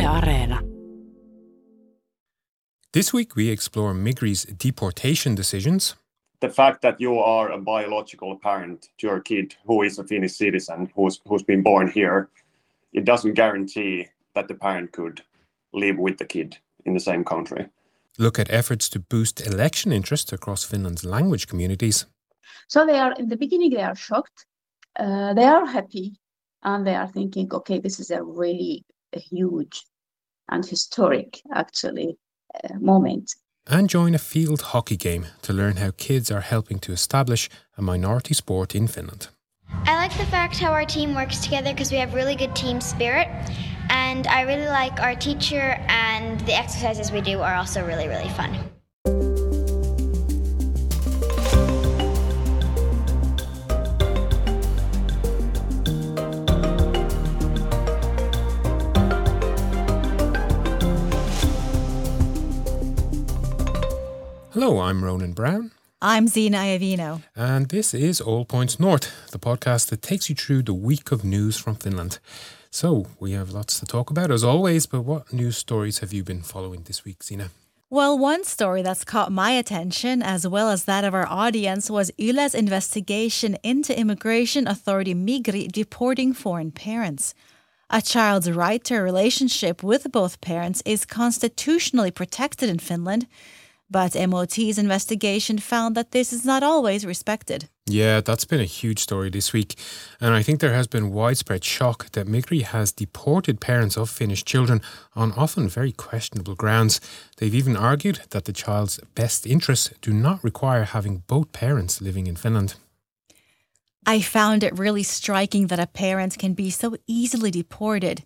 Areena. This week we explore Migri's deportation decisions. The fact that you are a biological parent to your kid who is a Finnish citizen, who's been born here, it doesn't guarantee that the parent could live with the kid in the same country. Look at efforts to boost election interest across Finland's language communities. So in the beginning, they are shocked, they are happy, and they are thinking, okay, this is a really huge and historic, actually, moment. And join a field hockey game to learn how kids are helping to establish a minority sport in Finland. I like the fact how our team works together because we have really good team spirit. And I really like our teacher, and the exercises we do are also really, really fun. Hello, I'm Ronan Brown. I'm Zina Iovino. And this is All Points North, the podcast that takes you through the week of news from Finland. So, we have lots to talk about as always, but what news stories have you been following this week, Zina? Well, one story that's caught my attention, as well as that of our audience, was Yle's investigation into immigration authority Migri deporting foreign parents. A child's right to a relationship with both parents is constitutionally protected in Finland, but MOT's investigation found that this is not always respected. Yeah, that's been a huge story this week. And I think there has been widespread shock that Migri has deported parents of Finnish children on often very questionable grounds. They've even argued that the child's best interests do not require having both parents living in Finland. I found it really striking that a parent can be so easily deported.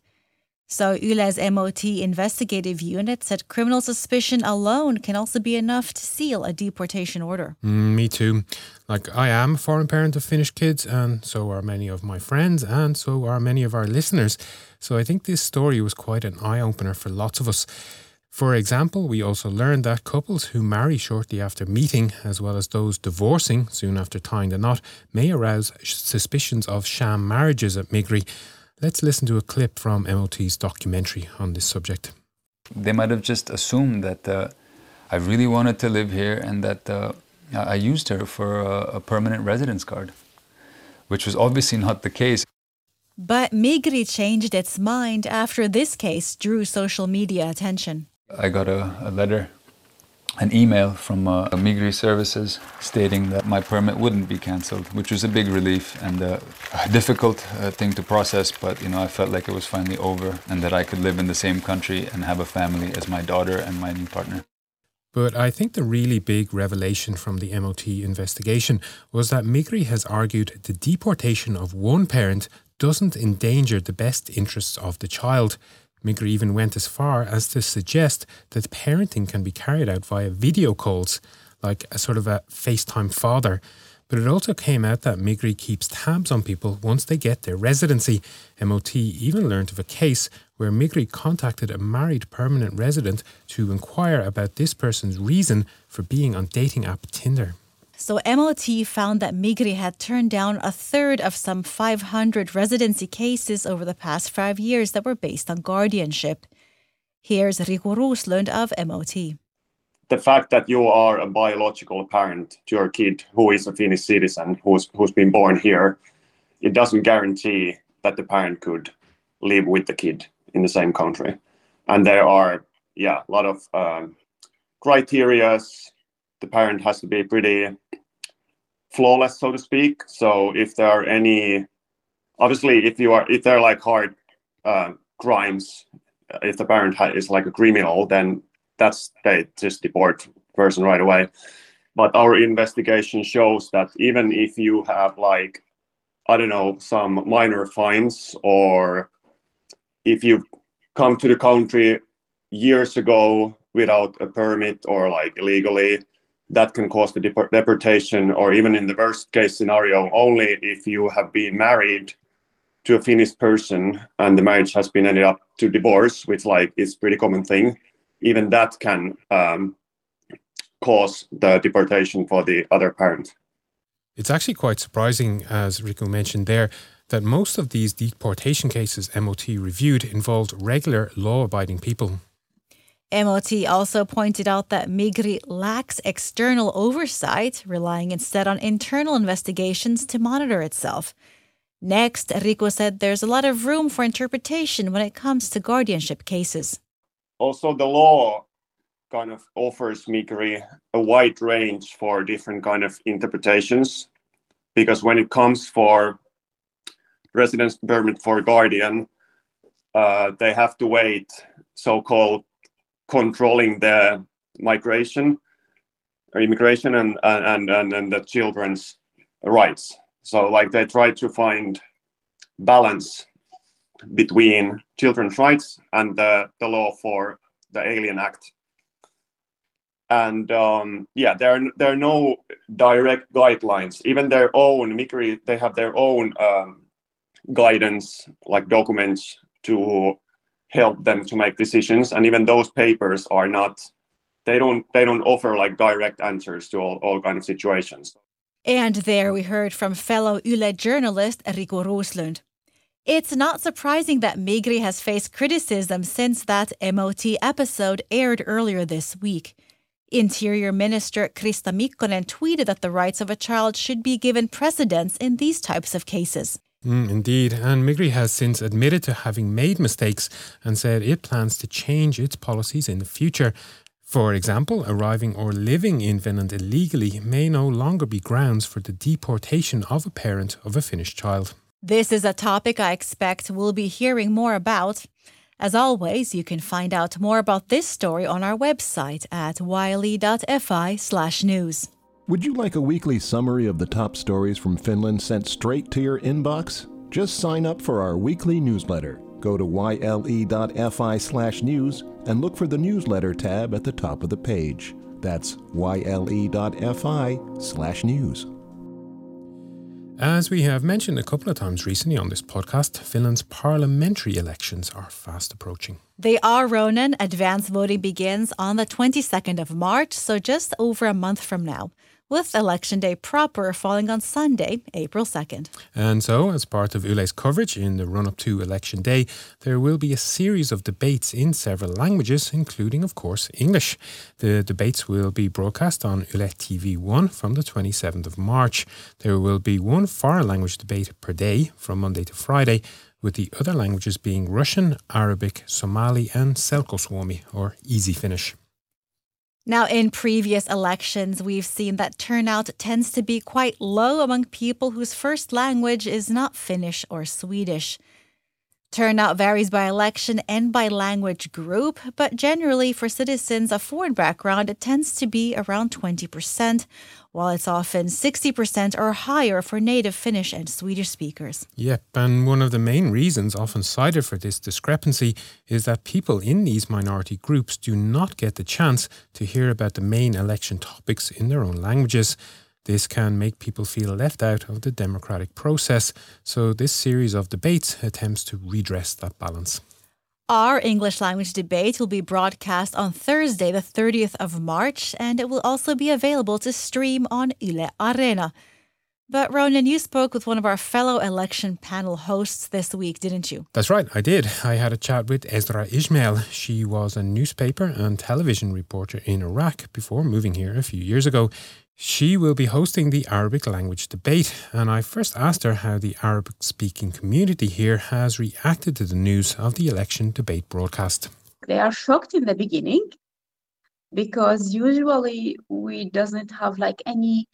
So Yle's MOT investigative unit said criminal suspicion alone can also be enough to seal a deportation order. Me too. I am a foreign parent of Finnish kids, and so are many of my friends, and so are many of our listeners. So I think this story was quite an eye-opener for lots of us. For example, we also learned that couples who marry shortly after meeting, as well as those divorcing soon after tying the knot, may arouse suspicions of sham marriages at Migri. Let's listen to a clip from MOT's documentary on this subject. They might have just assumed that I really wanted to live here and that I used her for a permanent residence card, which was obviously not the case. But Migri changed its mind after this case drew social media attention. I got a letter, an email from Migri Services stating that my permit wouldn't be cancelled, which was a big relief and a difficult thing to process, but I felt like it was finally over and that I could live in the same country and have a family as my daughter and my new partner. But I think the really big revelation from the MOT investigation was that Migri has argued the deportation of one parent doesn't endanger the best interests of the child. Migri even went as far as to suggest that parenting can be carried out via video calls, like a sort of a FaceTime father. But it also came out that Migri keeps tabs on people once they get their residency. MOT even learned of a case where Migri contacted a married permanent resident to inquire about this person's reason for being on dating app Tinder. So MOT found that Migri had turned down a third of some 500 residency cases over the past 5 years that were based on guardianship. Here's Riku Roslund of MOT. The fact that you are a biological parent to your kid who is a Finnish citizen, who's been born here, it doesn't guarantee that the parent could live with the kid in the same country. And there are, a lot of criteria. The parent has to be pretty flawless, so to speak. So if there are any, obviously, if they're like hard crimes, if the parent is like a criminal, then they just deport person right away. But our investigation shows that even if you have some minor fines, or if you come to the country years ago without a permit or illegally, that can cause the deportation, or even in the worst case scenario, only if you have been married to a Finnish person and the marriage has been ended up to divorce, which is a pretty common thing. Even that can cause the deportation for the other parent. It's actually quite surprising, as Riku mentioned there, that most of these deportation cases MOT reviewed involved regular law-abiding people. MOT also pointed out that Migri lacks external oversight, relying instead on internal investigations to monitor itself. Next, Riku said there's a lot of room for interpretation when it comes to guardianship cases. Also, the law kind of offers Migri a wide range for different kind of interpretations, because when it comes for residence permit for guardian, they have to wait, so-called controlling the migration or immigration and the children's rights. So like they try to find balance between children's rights and the law for the Alien Act. And there are no direct guidelines. Even their own Migri, they have their own guidance, like documents to help them to make decisions. And even those papers are not. They don't offer like direct answers to all kind of situations. And there we heard from fellow Yle journalist Riku Roslund. It's not surprising that Migri has faced criticism since that MOT episode aired earlier this week. Interior Minister Krista Mikkonen tweeted that the rights of a child should be given precedence in these types of cases. Indeed, and Migri has since admitted to having made mistakes and said it plans to change its policies in the future. For example, arriving or living in Finland illegally may no longer be grounds for the deportation of a parent of a Finnish child. This is a topic I expect we'll be hearing more about. As always, you can find out more about this story on our website at yle.fi/news. Would you like a weekly summary of the top stories from Finland sent straight to your inbox? Just sign up for our weekly newsletter. Go to yle.fi/news and look for the newsletter tab at the top of the page. That's yle.fi/news. As we have mentioned a couple of times recently on this podcast, Finland's parliamentary elections are fast approaching. They are, Ronan. Advance voting begins on the 22nd of March, so just over a month from now, with Election Day proper falling on Sunday, April 2nd. And so, as part of Yle's coverage in the run-up to Election Day, there will be a series of debates in several languages, including, of course, English. The debates will be broadcast on Yle TV1 from the 27th of March. There will be one foreign language debate per day from Monday to Friday, with the other languages being Russian, Arabic, Somali and Selkosuomi, or Easy Finnish. Now, in previous elections, we've seen that turnout tends to be quite low among people whose first language is not Finnish or Swedish. Turnout varies by election and by language group, but generally for citizens of foreign background, it tends to be around 20%, while it's often 60% or higher for native Finnish and Swedish speakers. Yep, and one of the main reasons often cited for this discrepancy is that people in these minority groups do not get the chance to hear about the main election topics in their own languages. This can make people feel left out of the democratic process, so this series of debates attempts to redress that balance. Our English language debate will be broadcast on Thursday, the 30th of March, and it will also be available to stream on Yle Areena. But Ronan, you spoke with one of our fellow election panel hosts this week, didn't you? That's right, I did. I had a chat with Ezra Ismail. She was a newspaper and television reporter in Iraq before moving here a few years ago. She will be hosting the Arabic language debate, and I first asked her how the Arabic-speaking community here has reacted to the news of the election debate broadcast. They are shocked in the beginning because usually we doesn't have like any,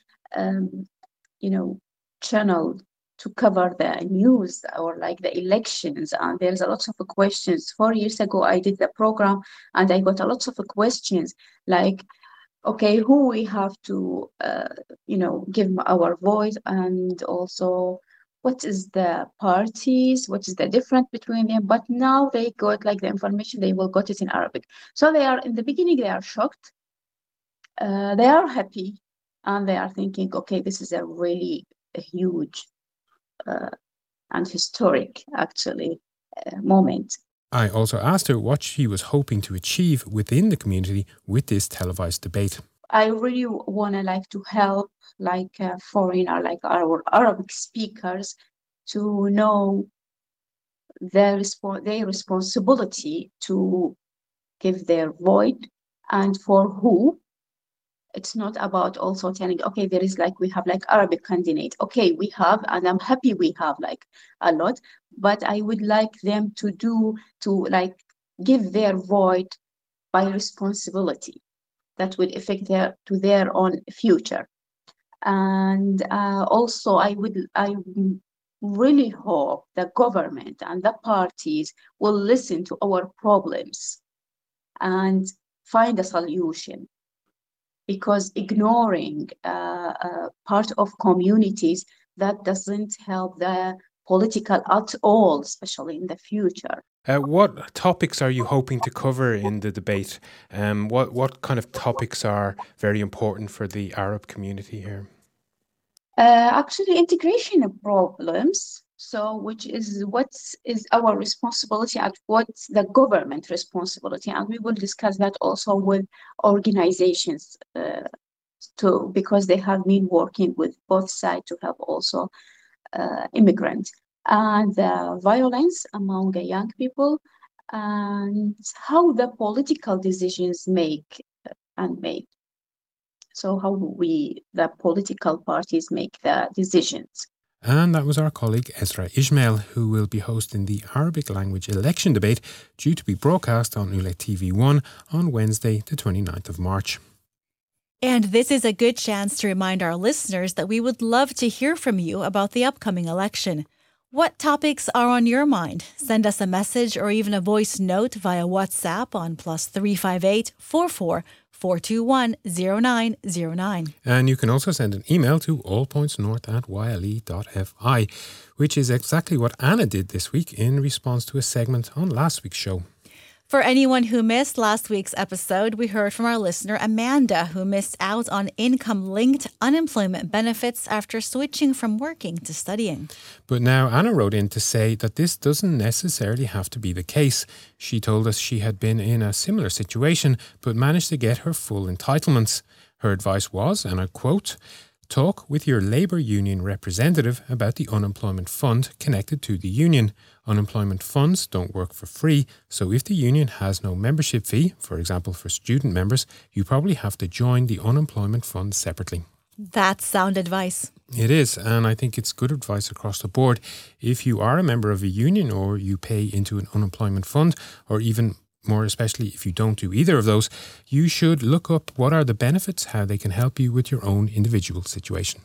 channel to cover the news or like the elections, and there's a lot of questions. 4 years ago, I did the program and I got a lot of questions like, okay, who we have to, give our voice, and also what is the parties, what is the difference between them. But now they got like the information, they will got it in Arabic. So they are, in the beginning, they are shocked. They are happy, and they are thinking, okay, this is a really huge and historic, actually, moment. I also asked her what she was hoping to achieve within the community with this televised debate. I really want to help foreigner, like our Arabic speakers, to know their responsibility to give their vote, and for who. It's not about also telling, okay, there is we have Arabic candidate. Okay, we have, and I'm happy we have a lot, but I would like them to give their vote by responsibility that would affect their own future. And also I really hope the government and the parties will listen to our problems and find a solution, because ignoring part of communities, that doesn't help the political at all, especially in the future. What topics are you hoping to cover in the debate? What kind of topics are very important for the Arab community here? Actually, integration problems. So, which is what is our responsibility and what's the government responsibility, and we will discuss that also with organizations too, because they have been working with both sides to help also immigrants, and the violence among the young people, and how the political decisions made. So how the political parties make the decisions. And that was our colleague Ezra Ismail, who will be hosting the Arabic language election debate due to be broadcast on Ule TV1 on Wednesday, the 29th of March. And this is a good chance to remind our listeners that we would love to hear from you about the upcoming election. What topics are on your mind? Send us a message or even a voice note via WhatsApp on +358 44 421 0909. And you can also send an email to allpointsnorth@yle.fi, which is exactly what Anna did this week in response to a segment on last week's show. For anyone who missed last week's episode, we heard from our listener Amanda, who missed out on income-linked unemployment benefits after switching from working to studying. But now Anna wrote in to say that this doesn't necessarily have to be the case. She told us she had been in a similar situation, but managed to get her full entitlements. Her advice was, and I quote, "Talk with your labour union representative about the unemployment fund connected to the union. Unemployment funds don't work for free, so if the union has no membership fee, for example for student members, you probably have to join the unemployment fund separately." That's sound advice. It is, and I think it's good advice across the board. If you are a member of a union or you pay into an unemployment fund, or even more especially if you don't do either of those, you should look up what are the benefits, how they can help you with your own individual situation.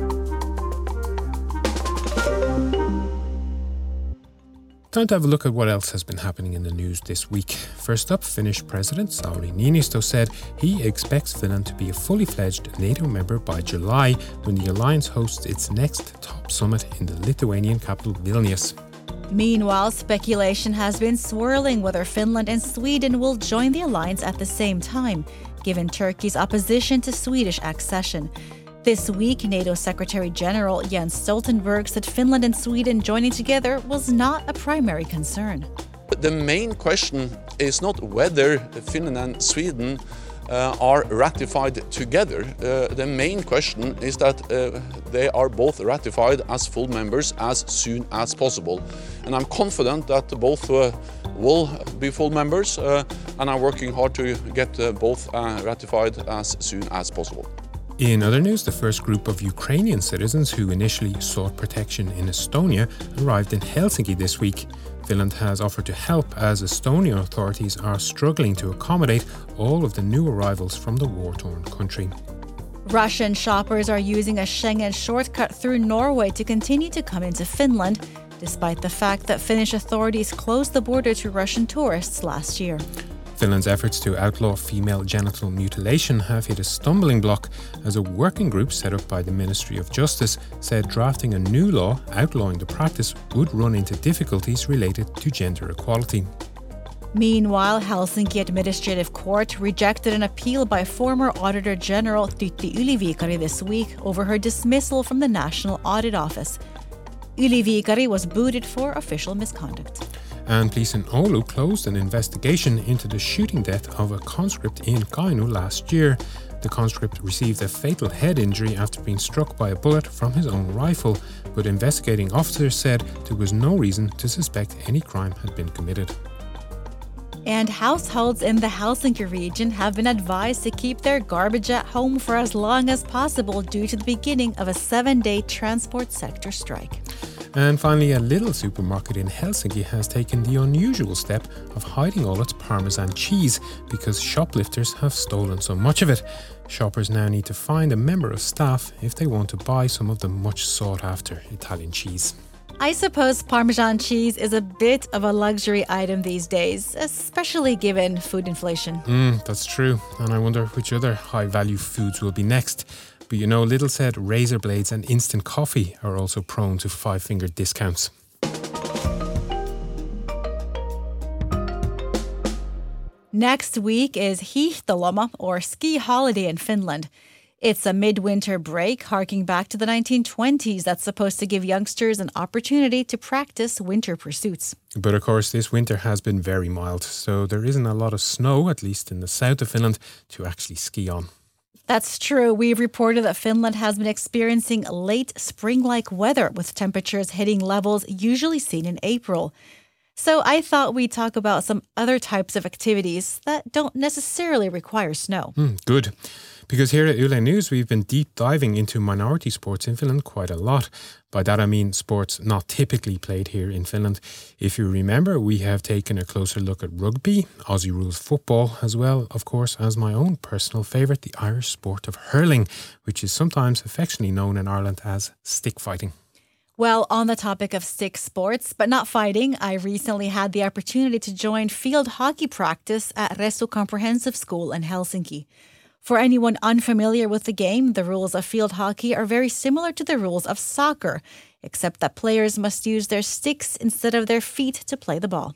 Time to have a look at what else has been happening in the news this week. First up, Finnish President Sauli Niinistö said he expects Finland to be a fully fledged NATO member by July, when the alliance hosts its next top summit in the Lithuanian capital Vilnius. Meanwhile, speculation has been swirling whether Finland and Sweden will join the alliance at the same time, given Turkey's opposition to Swedish accession. This week, NATO Secretary General Jens Stoltenberg said Finland and Sweden joining together was not a primary concern. The main question is not whether Finland and Sweden are ratified together. The main question is that they are both ratified as full members as soon as possible. And I'm confident that both will be full members, and I'm working hard to get both ratified as soon as possible. In other news, the first group of Ukrainian citizens who initially sought protection in Estonia arrived in Helsinki this week. Finland has offered to help as Estonian authorities are struggling to accommodate all of the new arrivals from the war-torn country. Russian shoppers are using a Schengen shortcut through Norway to continue to come into Finland, despite the fact that Finnish authorities closed the border to Russian tourists last year. Finland's efforts to outlaw female genital mutilation have hit a stumbling block, as a working group set up by the Ministry of Justice said drafting a new law outlawing the practice would run into difficulties related to gender equality. Meanwhile, Helsinki Administrative Court rejected an appeal by former Auditor General Tytti Yli-Viikari this week over her dismissal from the National Audit Office. Yli-Viikari was booted for official misconduct. And police in Oulu closed an investigation into the shooting death of a conscript in Kainuu last year. The conscript received a fatal head injury after being struck by a bullet from his own rifle, but investigating officers said there was no reason to suspect any crime had been committed. And households in the Helsinki region have been advised to keep their garbage at home for as long as possible due to the beginning of a 7-day transport sector strike. And finally, a little supermarket in Helsinki has taken the unusual step of hiding all its Parmesan cheese because shoplifters have stolen so much of it. Shoppers now need to find a member of staff if they want to buy some of the much sought after Italian cheese. I suppose Parmesan cheese is a bit of a luxury item these days, especially given food inflation. That's true. And I wonder which other high-value foods will be next. But you know, Lidl said razor blades and instant coffee are also prone to five-finger discounts. Next week is Hiihtoloma, or ski holiday in Finland. It's a midwinter break harking back to the 1920s that's supposed to give youngsters an opportunity to practice winter pursuits. But of course, this winter has been very mild, so there isn't a lot of snow, at least in the south of Finland, to actually ski on. That's true. We've reported that Finland has been experiencing late spring-like weather with temperatures hitting levels usually seen in April. So I thought we'd talk about some other types of activities that don't necessarily require snow. Good. Because here at Yle News, we've been deep diving into minority sports in Finland quite a lot. By that I mean sports not typically played here in Finland. If you remember, we have taken a closer look at rugby, Aussie rules football, as well, of course, as my own personal favourite, the Irish sport of hurling, which is sometimes affectionately known in Ireland as stick fighting. Well, on the topic of stick sports, but not fighting, I recently had the opportunity to join field hockey practice at Ressu Comprehensive School in Helsinki. For anyone unfamiliar with the game, the rules of field hockey are very similar to the rules of soccer, except that players must use their sticks instead of their feet to play the ball.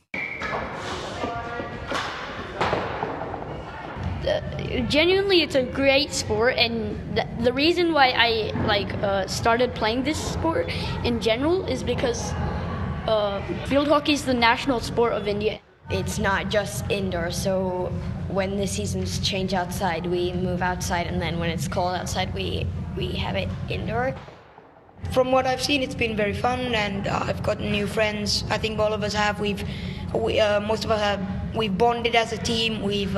Genuinely, it's a great sport, and the reason why I started playing this sport in general is because field hockey is the national sport of India. It's not just indoor, so when the seasons change outside, we move outside, and then when it's cold outside, we have it indoor. From what I've seen, it's been very fun, and I've gotten new friends. I think all of us have. Most of us have. We've bonded as a team. We've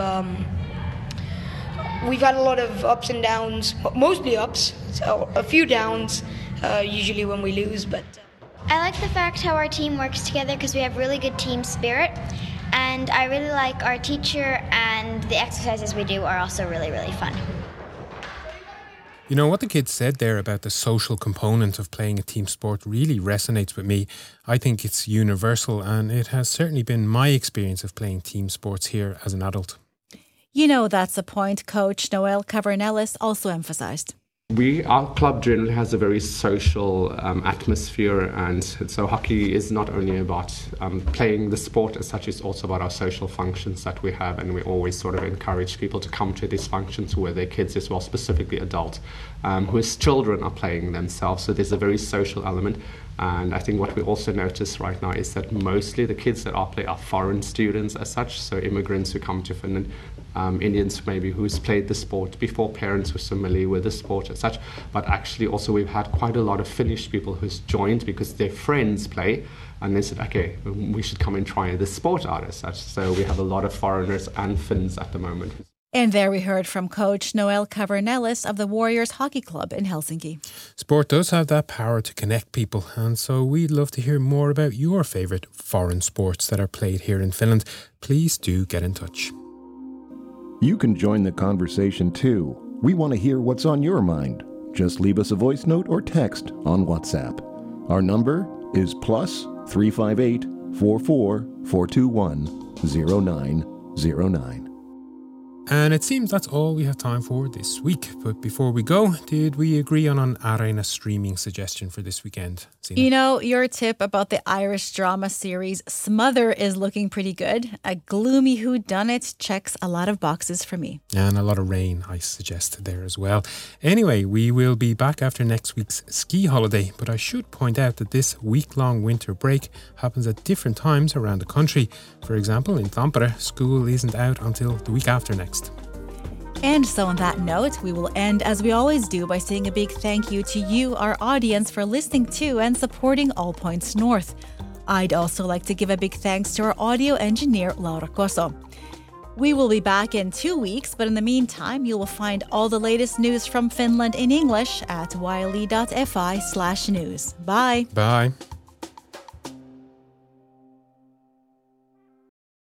had a lot of ups and downs, mostly ups, so a few downs, usually when we lose. But I like the fact how our team works together because we have really good team spirit. And I really like our teacher, and the exercises we do are also really, really fun. You know, what the kids said there about the social component of playing a team sport really resonates with me. I think it's universal, and it has certainly been my experience of playing team sports here as an adult. You know, that's a point Coach Noel Cavernellis also emphasized. Our club generally has a very social atmosphere, and so hockey is not only about playing the sport as such, it's also about our social functions that we have, and we always sort of encourage people to come to these functions where their kids as well, specifically adults, whose children are playing themselves. So there's a very social element. And I think what we also notice right now is that mostly the kids that are playing are foreign students as such, so immigrants who come to Finland, Indians maybe who's played the sport before, parents who are familiar with the sport as such, but actually also we've had quite a lot of Finnish people who's joined because their friends play, and they said, okay, we should come and try this sport out as such. So we have a lot of foreigners and Finns at the moment. And there we heard from Coach Noel Cavernellis of the Warriors Hockey Club in Helsinki. Sport does have that power to connect people, and so we'd love to hear more about your favourite foreign sports that are played here in Finland. Please do get in touch. You can join the conversation too. We want to hear what's on your mind. Just leave us a voice note or text on WhatsApp. Our number is +358 44 421 0909. And it seems that's all we have time for this week. But before we go, did we agree on an Areena streaming suggestion for this weekend, Siina? You know, your tip about the Irish drama series Smother is looking pretty good. A gloomy whodunit checks a lot of boxes for me. And a lot of rain, I suggest, there as well. Anyway, we will be back after next week's ski holiday. But I should point out that this week-long winter break happens at different times around the country. For example, in Tampere, school isn't out until the week after next. And so on that note, we will end as we always do by saying a big thank you to you, our audience, for listening to and supporting All Points North. I'd also like to give a big thanks to our audio engineer, Laura Koso. We will be back in 2 weeks, but in the meantime, you will find all the latest news from Finland in English at yle.fi/news. Bye. Bye.